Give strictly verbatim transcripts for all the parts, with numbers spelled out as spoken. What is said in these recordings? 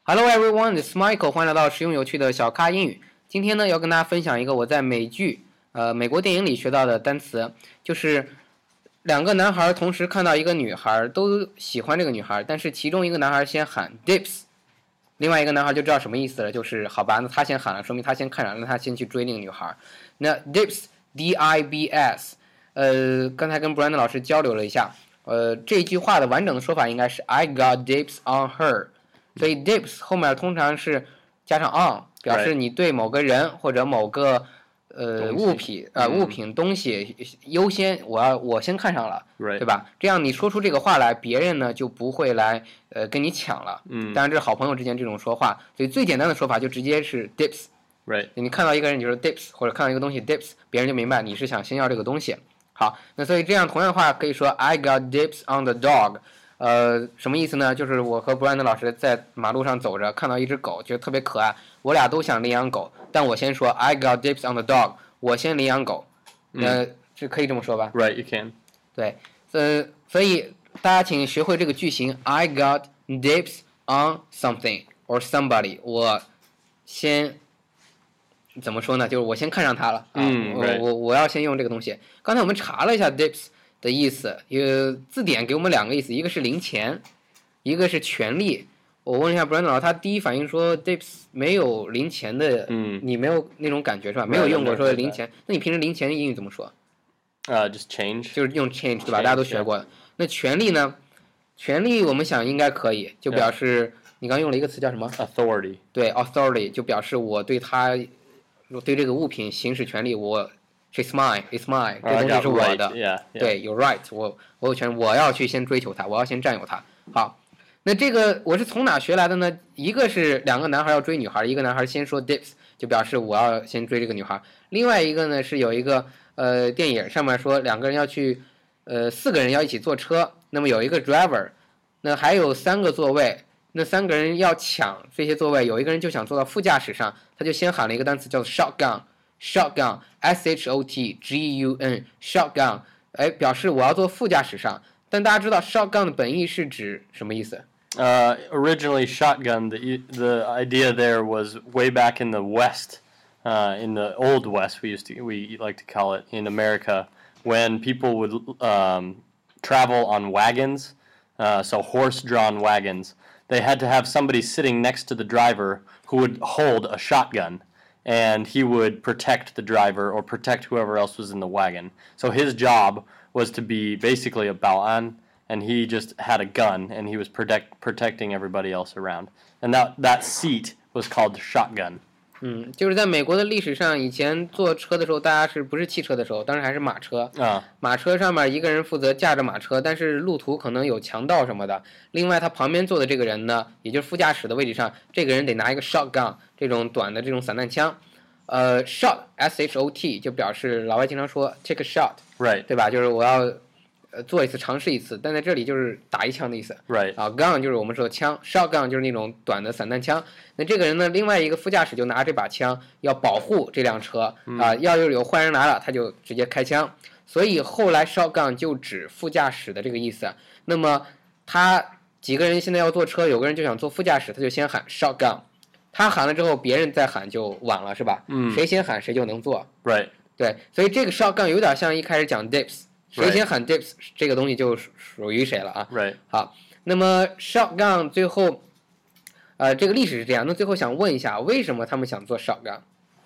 Hello everyone, this is Michael. 欢迎来到实用有趣的小咖英语。今天呢，要跟大家分享一个我在美剧、呃美国电影里学到的单词，就是两个男孩同时看到一个女孩，都喜欢这个女孩，但是其中一个男孩先喊 dips， 另外一个男孩就知道什么意思了，就是好吧，那他先喊了，说明他先看上了，那他先去追那个女孩。那 dips D I B S， 呃，刚才跟 Brandon 老师交流了一下，呃，这句话的完整的说法应该是 I got dips on her。所以 dips 后面通常是加上 on， 表示你对某个人或者某个呃物品呃物品东西优先，我要我先看上了， right. 对吧？这样你说出这个话来，别人呢就不会来呃跟你抢了。 嗯， 当然这是好朋友之间这种说话，所以最简单的说法就直接是 dips。Right， 你看到一个人你就说 dips， 或者看到一个东西 dips， 别人就明白你是想先要这个东西。好，那所以这样同样的话可以说 I got dips on the dog。呃，什么意思呢？就是我和 Brandon 老师在马路上走着，看到一只狗，觉得特别可爱，我俩都想领养狗，但我先说 I got dips on the dog， 我先领养狗。呃， 嗯， 这可以这么说吧 ？Right, you can。 对，呃，所以大家请学会这个句型 I got dips on something or somebody， 我先怎么说呢？就是我先看上它了啊， 嗯， 我我我要先用这个东西。刚才我们查了一下 dips的意思，有字典给我们两个意思，一个是零钱，一个是权利。我问一下 Brandon 老师，他第一反应说 dips 没有零钱的， 嗯， 你没有那种感觉是吧？没有用过说零钱，那你平时零钱的英语怎么说？ 呃、uh, ，just change， 就是用 change 对吧？大家都学过。那权利呢？权利我们想应该可以，就表示、yeah. 你刚用了一个词叫什么 ？authority。 对 ，authority 就表示我对他对这个物品行使权利，我。It's mine, it's mine， 这东西是我的。 Uh, right, yeah, yeah. 对 ，You're right， 我我有权，我要去先追求它，我要先占有它。好，那这个我是从哪学来的呢？一个是两个男孩要追女孩，一个男孩先说 dips， 就表示我要先追这个女孩。另外一个呢是有一个呃电影上面说两个人要去，呃四个人要一起坐车，那么有一个 driver， 那还有三个座位，那三个人要抢这些座位，有一个人就想坐到副驾驶上，他就先喊了一个单词叫做 shotgun。shotgun S H O T G U N shotgun， 哎，表示我要坐副驾驶上。但大家知道 shotgun 的本意是指什么意思？ Uh, originally, shotgun, the the idea there was way back in the West, uh, in the old West, we used to we like to call it in America, when people would um, travel on wagons, uh, so horse-drawn wagons. They had to have somebody sitting next to the driver who would hold a shotgun.And he would protect the driver or protect whoever else was in the wagon. So his job was to be basically a 保安, and he just had a gun, and he was protect, protecting everybody else around. And that, that seat was called shotgun. 嗯，就是在美国的历史上，以前坐车的时候，大家是不是汽车的时候，当时还是马车啊。 马车上面一个人负责驾着马车，但是路途可能有强盗什么的。另外，他旁边坐的这个人呢，也就是副驾驶的位置上，这个人得拿一个 shotgun 这种短的这种散弹枪。呃 ，shot S H O T 就表示老外经常说 take a shot，right， 对吧？就是我要呃做一次尝试一次，但在这里就是打一枪的意思 ，right 啊 ，gun 就是我们说的枪 ，shotgun 就是那种短的散弹枪。那这个人呢，另外一个副驾驶就拿这把枪要保护这辆车、嗯、啊，要是有坏人来了，他就直接开枪。所以后来 shotgun 就指副驾驶的这个意思。那么他几个人现在要坐车，有个人就想坐副驾驶，他就先喊 shotgun。他喊了之后，别人再喊就晚了，是吧？ 嗯， 谁先喊谁就能做。 Right。 对，所以这个 shotgun 有点像一开始讲 dips， 谁先喊 dips， 这个东西就属于谁了啊。 Right。 好，那么 shotgun 最后，呃，这个历史是这样。那最后想问一下，为什么他们想做 shotgun？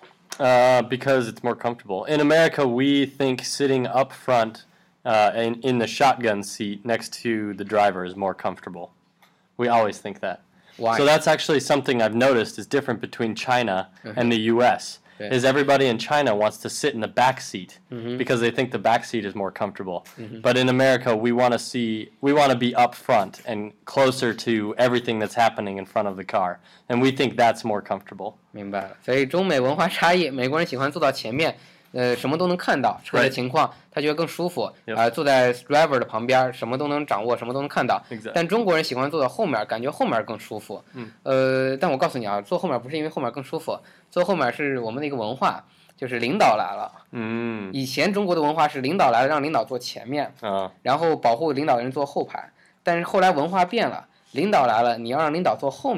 Uh, because it's more comfortable. In America, we think sitting up front, uh, in in the shotgun seat next to the driver is more comfortable. We always think that.Why? So that's actually something I've noticed is different between China mm-hmm. and the U S Okay. Is everybody in China wants to sit in the back seat mm-hmm. because they think the back seat is more comfortable. Mm-hmm. But in America, we want to see, we want to be up front and closer to everything that's happening in front of the car, and we think that's more comfortable. 明白了，所以中美文化差异，美国人喜欢坐到前面。呃，什么都能看到车的情况， right. 他觉得更舒服。 Yep. 呃，坐在 driver 的旁边，什么都能掌握，什么都能看到。 Exactly. 但中国人喜欢坐到后面，感觉后面更舒服。 嗯。 呃，但我告诉你啊，坐后面不是因为后面更舒服，坐后面是我们的一个文化，就是领导来了。 嗯。 以前中国的文化是领导来了，让领导坐前面， 啊， 然后保护领导的人坐后排。但是后来文化变了，领导来了，你要让领导坐后面。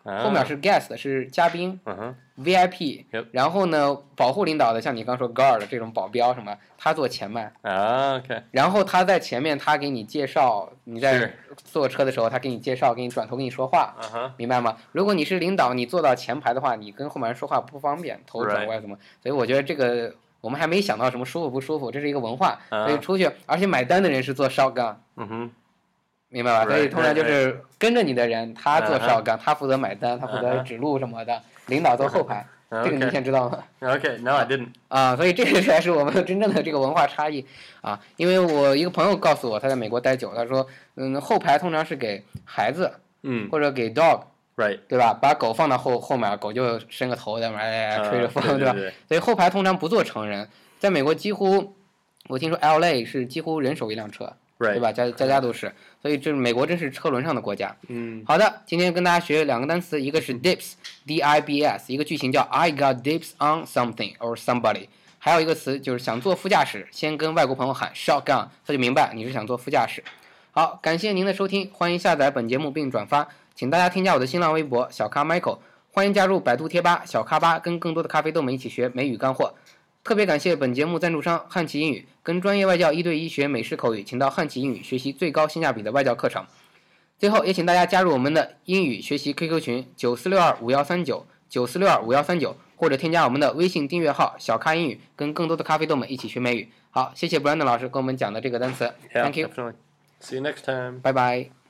后面是 guest 是嘉宾、 uh-huh. V I P， Yep. 然后呢保护领导的像你刚说 guard 这种保镖什么，他坐前面。 啊 ，OK。 然后他在前面，他给你介绍，你在坐车的时候，他给你介绍，给你转头跟你说话， uh-huh. 明白吗？如果你是领导，你坐到前排的话，你跟后面人说话不方便，头转过来怎么？ Right. 所以我觉得这个我们还没想到什么舒服不舒服，这是一个文化。Uh-huh. 所以出去，而且买单的人是坐 shotgun。 嗯哼。 明白吧？ Right, 所以通常就是跟着你的人， right, 他做 shotgun， uh-huh. 他负责买单，他负责指路什么的， uh-huh. 领导坐后排。 Uh-huh. 这个你先知道吗 ？Okay, no, I didn't. 啊，所以这个才是我们真正的这个文化差异啊。因为我一个朋友告诉我，他在美国待久，他说，嗯，后排通常是给孩子， 嗯， 或者给 dog， right， 对吧？把狗放到后后面，狗就伸个头在那哎吹着风， uh, 对吧？ 对对对， 所以后排通常不坐成人，在美国几乎，我听说 L A 是几乎人手一辆车。 Right. 对吧？家家家都是，所以这美国真是车轮上的国家。 嗯， 好的，今天跟大家学两个单词，一个是 dips，D I B S， 一个句型叫 I got dips on something or somebody， 还有一个词就是想坐副驾驶，先跟外国朋友喊 shotgun， 他就明白你是想坐副驾驶。好，感谢您的收听，欢迎下载本节目并转发，请大家添加我的新浪微博小咖 Michael， 欢迎加入百度贴吧小咖吧，跟更多的咖啡豆们一起学美语干货。特别感谢本节目赞助商汉奇英语，跟专业外教一对一学美式口语，请到汉奇英语学习最高性价比的外教课程。最后也请大家加入我们的英语学习 Q Q 群九四六二五幺三九 九四六二五幺三九，或者添加我们的微信订阅号小咖英语，跟更多的咖啡豆们一起学美语。好，谢谢 Brandon 老师给我们讲的这个单词。 yeah, Thank you. Definitely. See you next time. 拜拜。